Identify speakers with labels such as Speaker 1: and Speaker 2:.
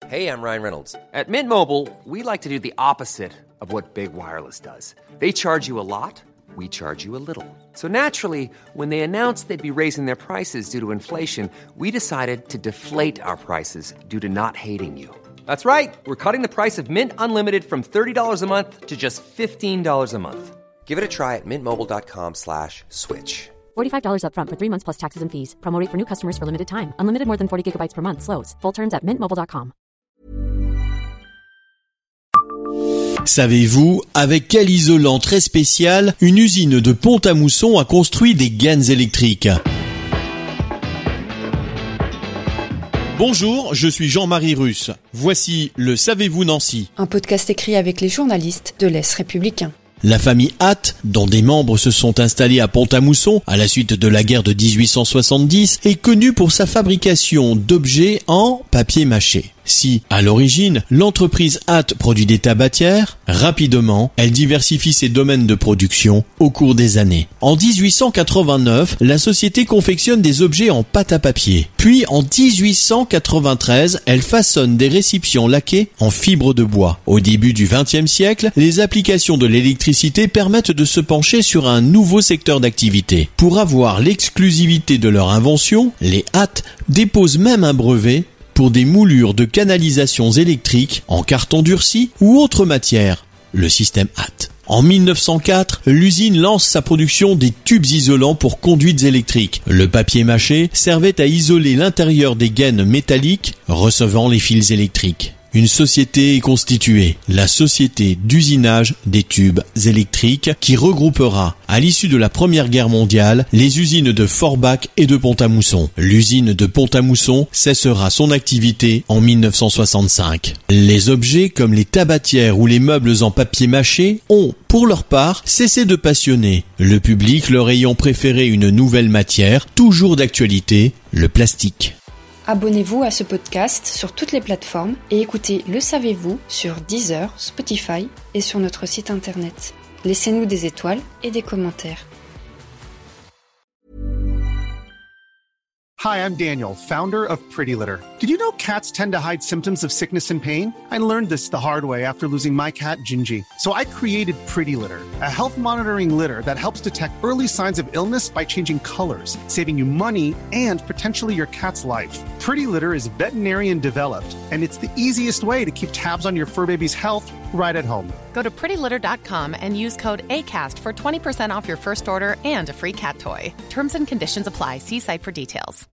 Speaker 1: Hey, I'm Ryan Reynolds. At Mint Mobile, we like to do the opposite of what Big Wireless does. They charge you a lot, we charge you a little. So naturally, when they announced they'd be raising their prices due to inflation, we decided to deflate our prices due to not hating you. That's right. We're cutting the price of Mint Unlimited from $30 a month to just $15 a month. Give it a try at mintmobile.com/switch.
Speaker 2: $45 up front for 3 months plus taxes and fees. Promo rate for new customers for limited time. Unlimited more than 40 gigabytes per month. Slows full terms at mintmobile.com.
Speaker 3: Savez-vous avec quel isolant très spécial une usine de Pont-à-Mousson a construit des gaines électriques ? Bonjour, je suis Jean-Marie Russe. Voici le Savez-vous Nancy ?
Speaker 4: Un podcast écrit avec les journalistes de l'Est républicain.
Speaker 3: La famille Hatt, dont des membres se sont installés à Pont-à-Mousson à la suite de la guerre de 1870, est connue pour sa fabrication d'objets en papier mâché. Si, à l'origine, l'entreprise Hatt produit des tabatières, rapidement, elle diversifie ses domaines de production au cours des années. En 1889, la société confectionne des objets en pâte à papier. Puis, en 1893, elle façonne des récipients laqués en fibre de bois. Au début du XXe siècle, les applications de l'électricité permettent de se pencher sur un nouveau secteur d'activité. Pour avoir l'exclusivité de leur invention, les Hatt déposent même un brevet pour des moulures de canalisations électriques en carton durci ou autre matière, le système Hatt. En 1904, l'usine lance sa production des tubes isolants pour conduites électriques. Le papier mâché servait à isoler l'intérieur des gaines métalliques recevant les fils électriques. Une société est constituée, la Société d'usinage des tubes électriques, qui regroupera, à l'issue de la Première Guerre mondiale, les usines de Forbach et de Pont-à-Mousson. L'usine de Pont-à-Mousson cessera son activité en 1965. Les objets comme les tabatières ou les meubles en papier mâché ont, pour leur part, cessé de passionner, le public leur ayant préféré une nouvelle matière, toujours d'actualité, le plastique.
Speaker 4: Abonnez-vous à ce podcast sur toutes les plateformes et écoutez Le Savez-vous sur Deezer, Spotify et sur notre site internet. Laissez-nous des étoiles et des commentaires.
Speaker 5: Hi, I'm Daniel, founder of Pretty Litter. Did you know cats tend to hide symptoms of sickness and pain? I learned this the hard way after losing my cat, Gingy. So I created Pretty Litter, a health monitoring litter that helps detect early signs of illness by changing colors, saving you money and potentially your cat's life. Pretty Litter is veterinarian developed, and it's the easiest way to keep tabs on your fur baby's health right at home.
Speaker 6: Go to prettylitter.com and use code ACAST for 20% off your first order and a free cat toy. Terms and conditions apply. See site for details.